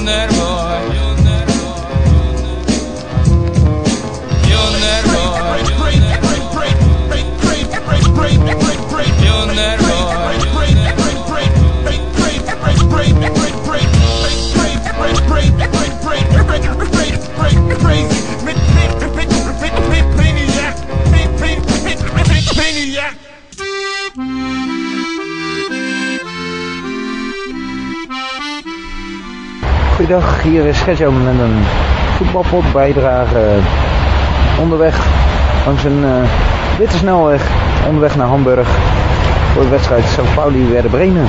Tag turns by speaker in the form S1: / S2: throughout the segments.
S1: Goeiedag, hier is Gertjo met een voetbalpot bijdrage onderweg langs een witte snelweg onderweg naar Hamburg voor de wedstrijd St. Pauli Werder Bremen.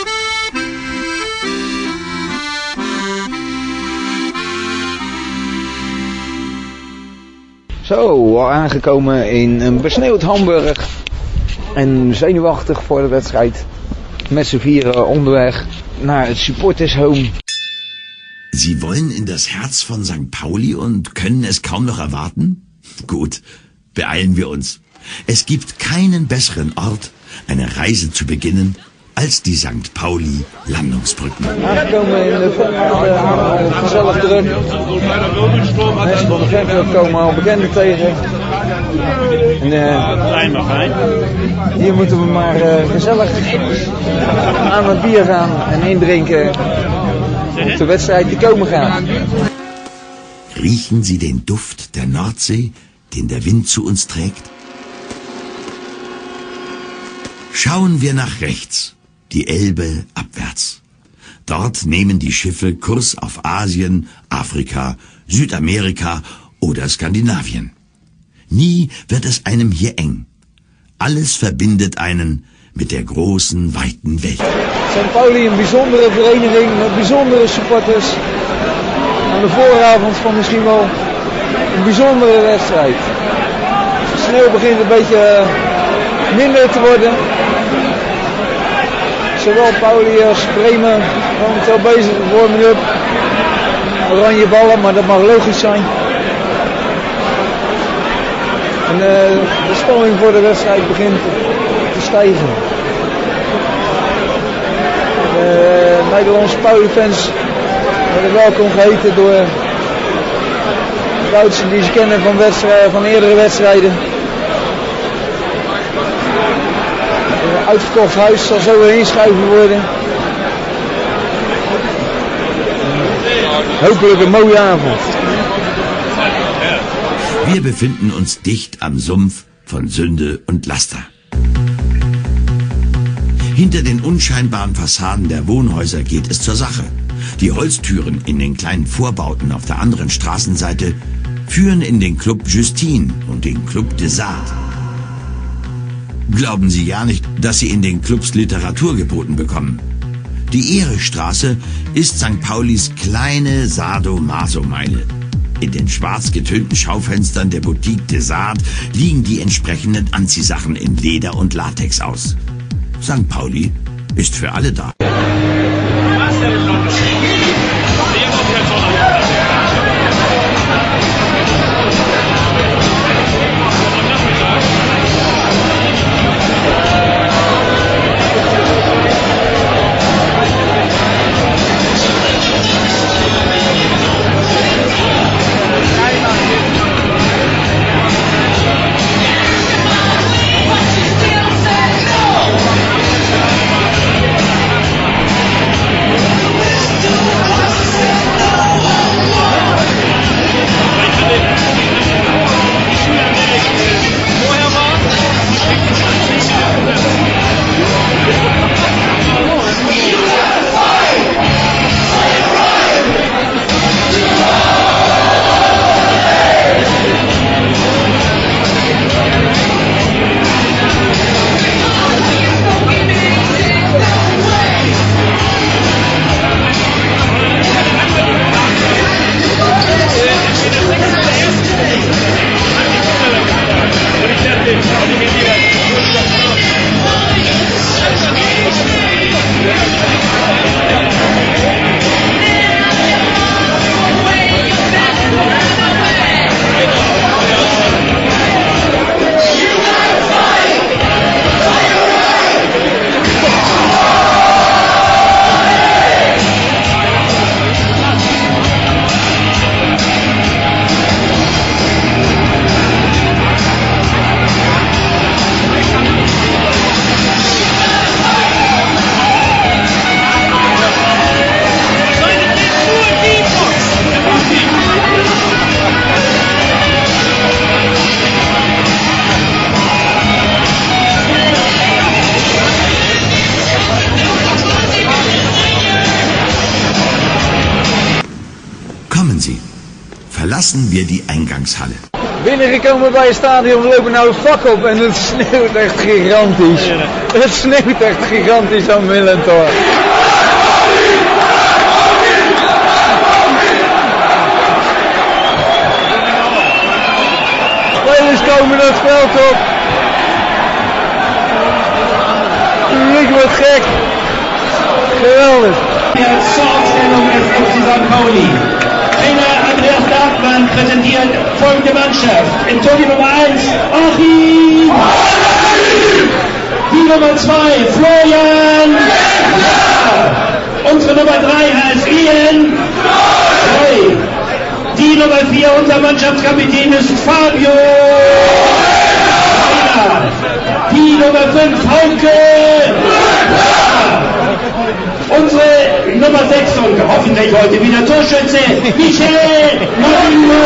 S1: Zo, al aangekomen in een besneeuwd Hamburg en zenuwachtig voor de wedstrijd met z'n vieren onderweg naar het supporters home.
S2: Sie wollen in das Herz von St. Pauli und können es kaum noch erwarten? Gut, beeilen wir uns. Es gibt keinen besseren Ort, eine Reise zu beginnen, als die St. Pauli Landungsbrücken.
S1: Aangekomen in de voorraad, gezellig druk. Mensen van de Veldclub komen al bekenden tegen. Hier moeten we maar gezellig aan het bier gaan en indrinken op de wedstrijd die komen gaat.
S2: Riechen Sie den Duft der Nordsee, den der Wind zu uns trägt? Schauen wir nach rechts, die Elbe abwärts. Dort nehmen die Schiffe Kurs auf Asien, Afrika, Südamerika oder Skandinavien. Nie wird es einem hier eng. Alles verbindet einen mit der großen, weiten Welt.
S1: St. Pauli, een bijzondere vereniging met bijzondere supporters. Aan de vooravond van misschien wel een bijzondere wedstrijd. De sneeuw begint een beetje minder te worden. Zowel Pauli als Bremen momenteel bezig met warming-up. Oranje ballen, maar dat mag logisch zijn. En de spanning voor de wedstrijd begint te stijgen. De Nederlandse Pauli-fans worden welkom geheten door de oudsten die ze kennen van eerdere wedstrijden. Een uitverkocht huis zal zo weer inschuiven worden. Hopelijk een mooie avond.
S2: Wir befinden uns dicht am Sumpf von Sünde und Laster. Hinter den unscheinbaren Fassaden der Wohnhäuser geht es zur Sache. Die Holztüren in den kleinen Vorbauten auf der anderen Straßenseite führen in den Club Justine und den Club des Arts. Glauben Sie ja nicht, dass Sie in den Clubs Literatur geboten bekommen. Die Ehrestraße ist St. Paulis kleine Sado-Maso-Meile. In den schwarz getönten Schaufenstern der Boutique des Arts liegen die entsprechenden Anziehsachen in Leder und Latex aus. St. Pauli ist für alle da. machen Sie. Verlassen wir die Eingangshalle.
S1: Binnengekomen bij het stadion, we lopen nou de vak op en het sneeuwt echt gigantisch. Het sneeuwt echt gigantisch aan Millentor. Spelers komen het veld op. Het publiek wordt gek. Geweldig.
S3: Startstellung des FC St. Pauli. Trainer Andreas Bergmann präsentiert folgende Mannschaft. In Tor die Nummer 1, Achim. Die Nummer 2, Florian. Unsere Nummer 3 heißt Ian. Die Nummer 4, unser Mannschaftskapitän ist Fabio. Die Nummer 5, Hauke. Unsere Nummer 6 und hoffentlich heute wieder Torschütze, Michel Marino.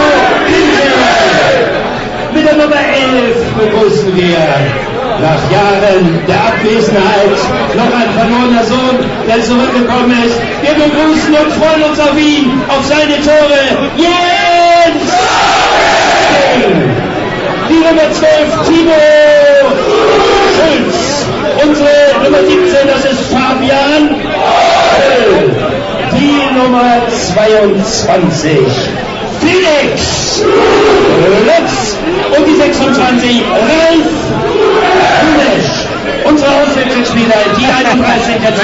S3: Mit der Nummer 11 begrüßen wir nach Jahren der Abwesenheit noch ein verlorener Sohn, der zurückgekommen ist. Wir begrüßen und freuen uns auf ihn, auf seine Tore. Jens! Die Nummer 12, Timo Schulz. Unsere Nummer 17, das ist Fabian. Die Nummer 22, Felix Lutz. Und die 26, Ralf Hunesch. Unsere Auswechselspieler, die 31 der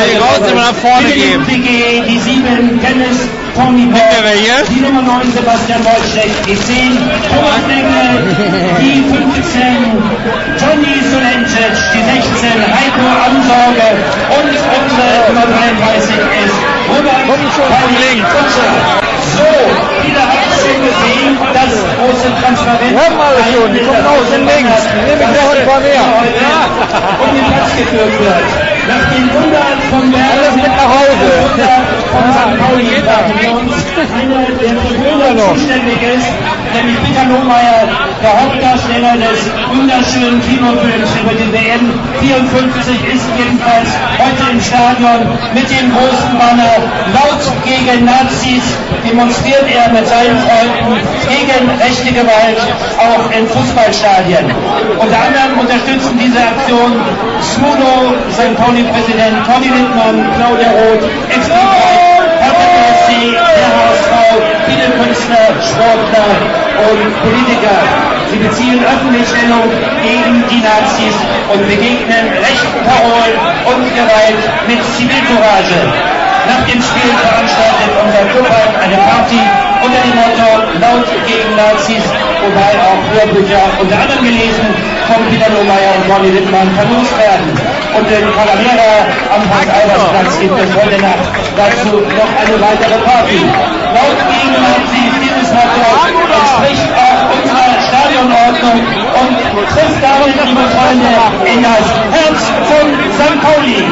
S3: die 7, Dennis Tony Paul, die Nummer 9, Sebastian Wojcik, die 10, Thomas Engel, die 15, Johnny Solencic, die 16, Heiko Amsorge und unsere Nummer 33 ist Robert Kutscher. So, viele haben es schon gesehen, das große Transparent.
S1: Wir haben alle schon, die kommen aus dem Links. Nehme ich noch ein paar mehr.
S3: Um den Platz geführt wird. Nach den Wundern von
S1: Alles mit nach Hause.
S3: Von St. Pauli warten wir uns einer, der für Bilder zuständig ist, nämlich Peter Lohmeier, der Hauptdarsteller des wunderschönen Kinofilms über die WM 54, ist jedenfalls heute im Stadion mit dem großen Banner laut gegen Nazis. Demonstriert er mit seinen Freunden gegen rechte Gewalt auch in Fußballstadien. Unter anderem unterstützen diese Aktion Smudo, St. Pauli-Präsident Conny Littmann, Claudia Roth, Ex-Liebreich, Hertha BSC, der HSV, viele Künstler, Sportler und Politiker. Sie beziehen öffentlich Stellung gegen die Nazis und begegnen rechten Parolen und Gewalt mit Zivilcourage. Nach dem Spiel veranstaltet unser Club eine Party unter dem Motto Laut gegen Nazis, wobei auch Hörbücher unter anderem gelesen von Peter Lohmeier und Conny Littmann verlost werden. Und in Calavera am Hans-Albers-Platz gibt es heute Nacht dazu noch eine weitere Party. Laut gegen Nazis, dieses Motto entspricht auch unserer Stadionordnung und trifft damit, liebe Freunde, in das Herz von St. Pauli.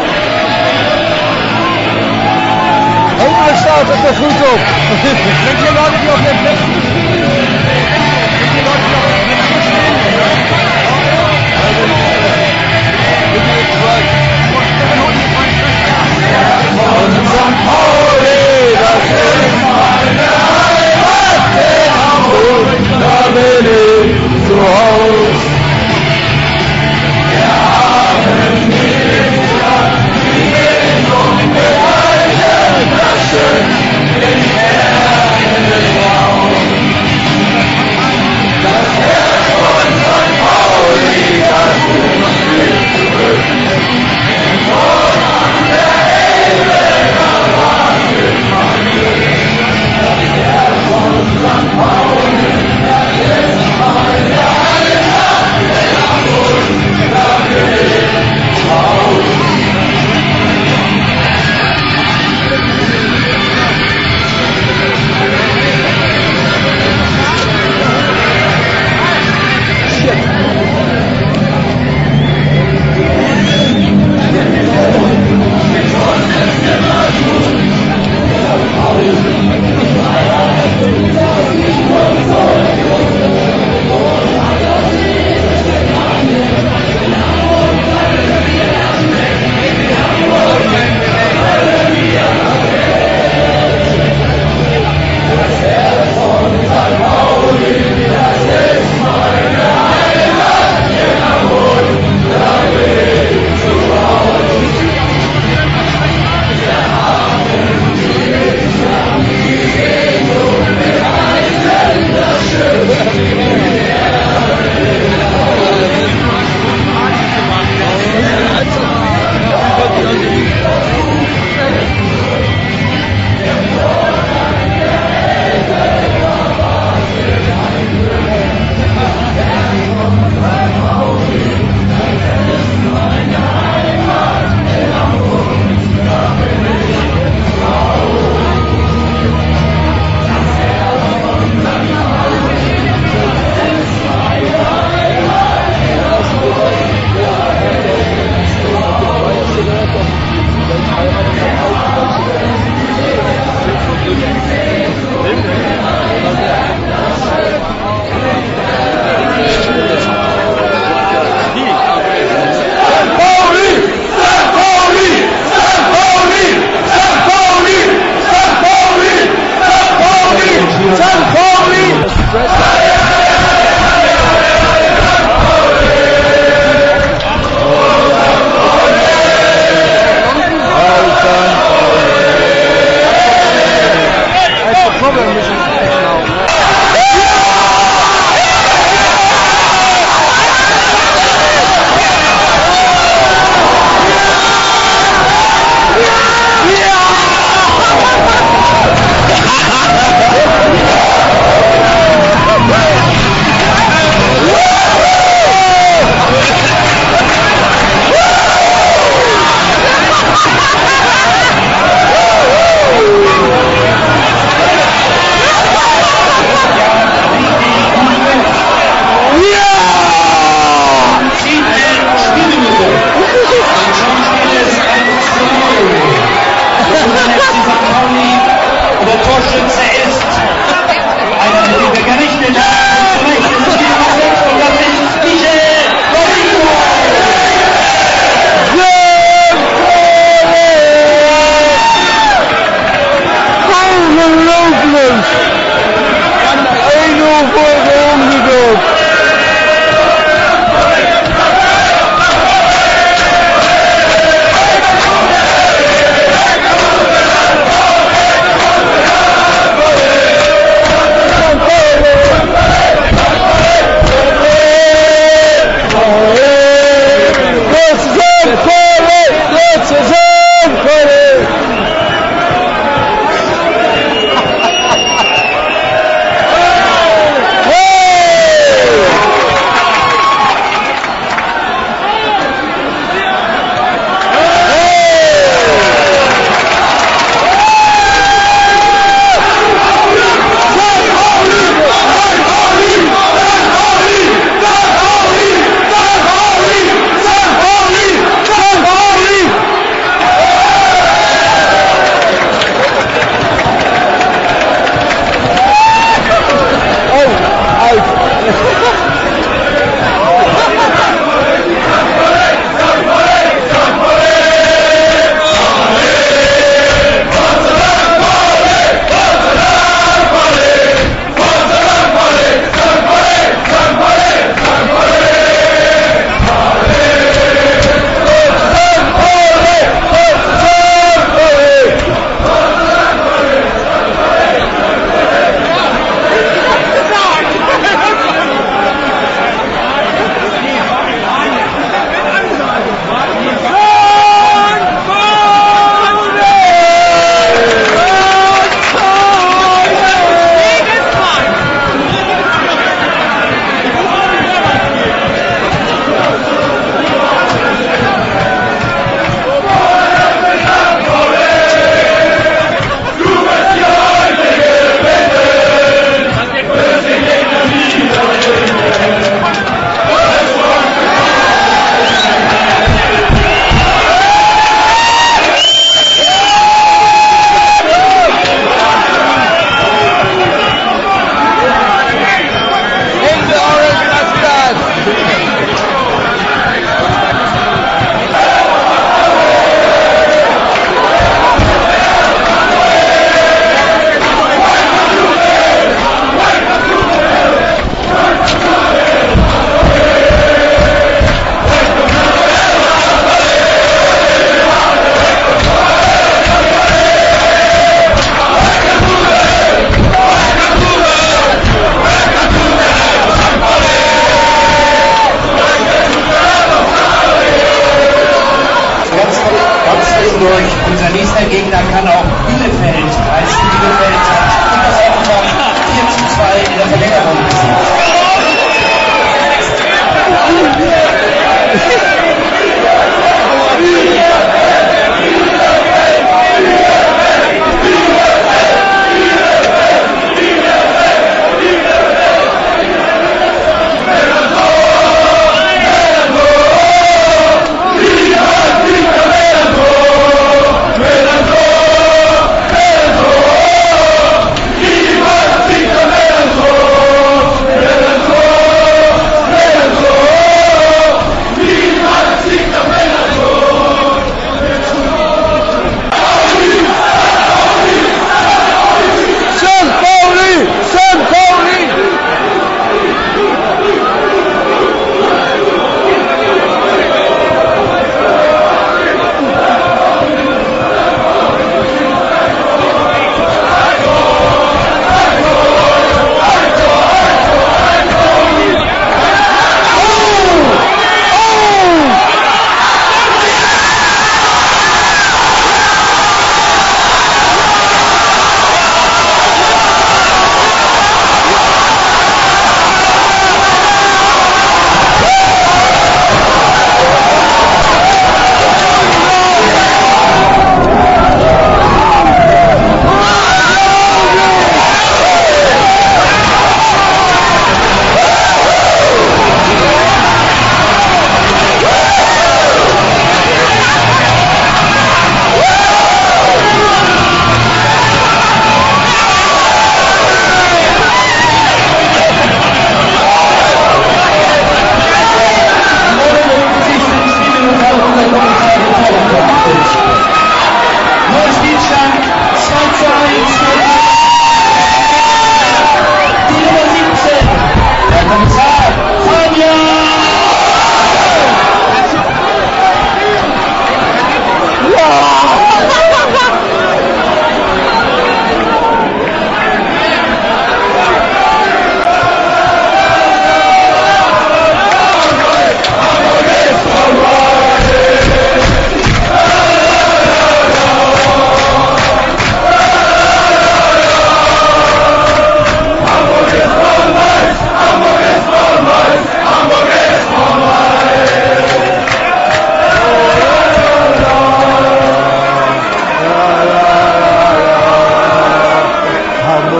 S1: Hopelijk staat het er goed op. Weet je wat ik nog heb? St. Pauli, das ist meine Heimat, in Hamburg, da bin ich zu Hause. Wir haben die Stadt, die Bildung bereichert, das schön in Erden Raum. Robben müssen wir schnauben.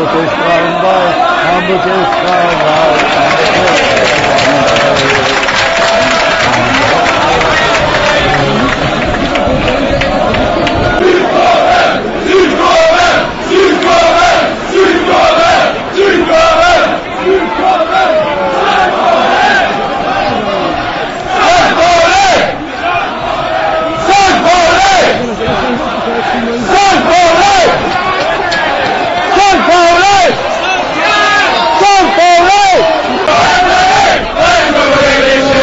S1: Hamburg is Frauenwald, Hamburg is Frauenwald,
S4: St. Pauli!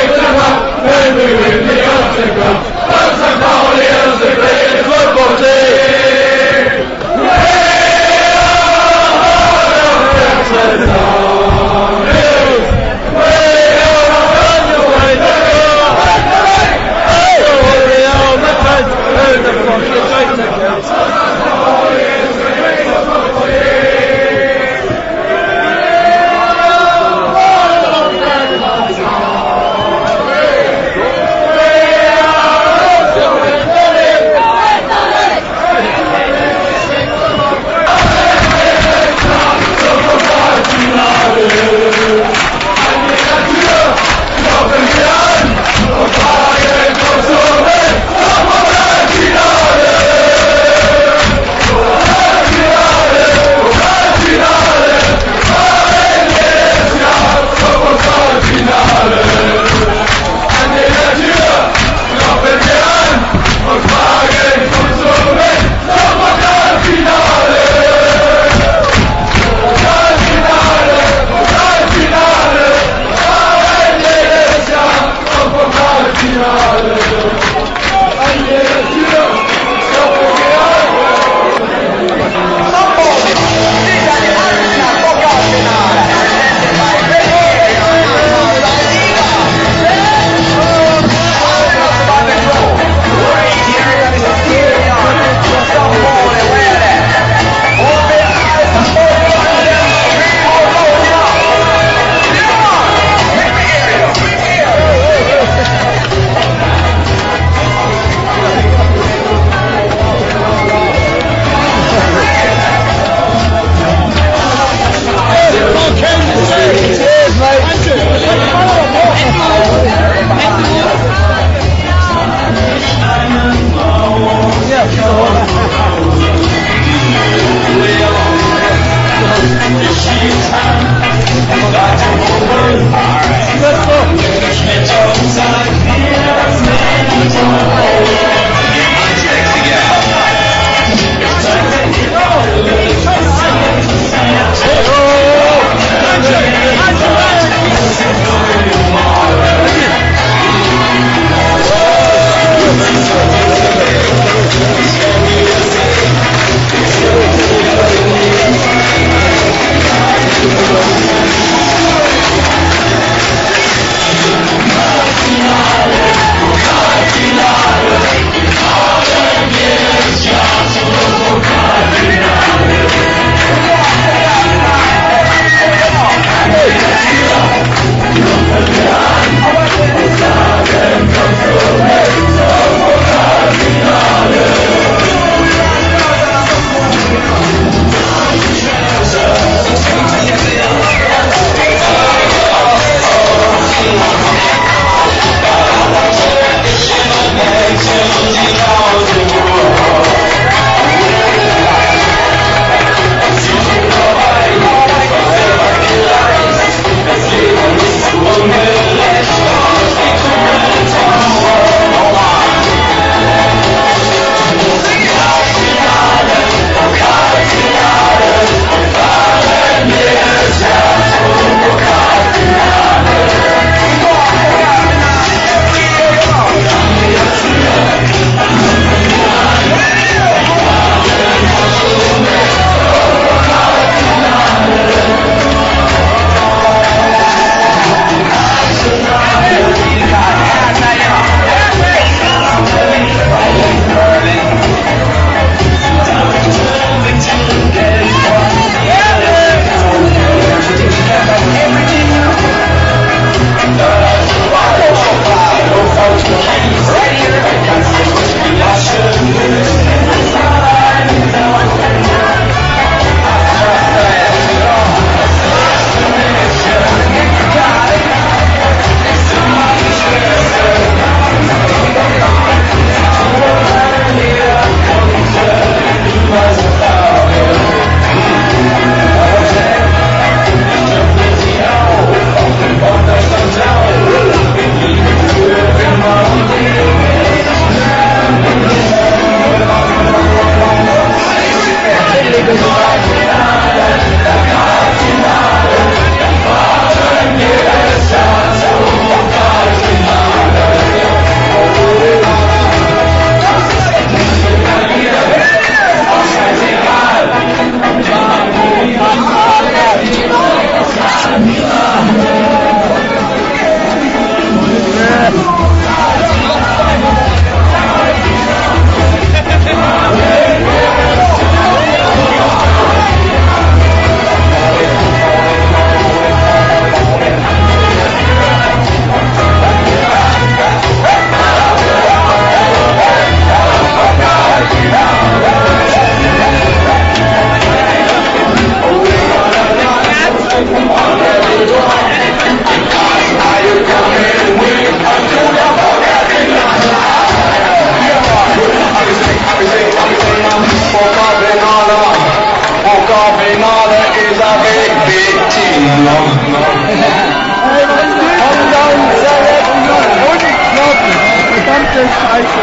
S1: Verdammte Scheiße.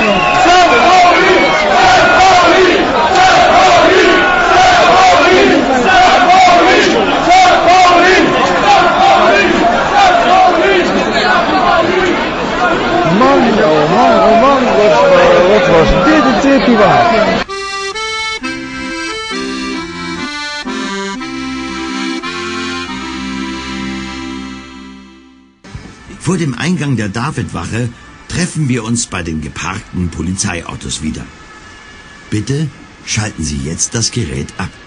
S1: Mann, oh Mann, wat was dit een tipje waard?
S2: Vor dem Eingang der Davidwache treffen wir uns bei den geparkten Polizeiautos wieder. Bitte schalten Sie jetzt das Gerät ab.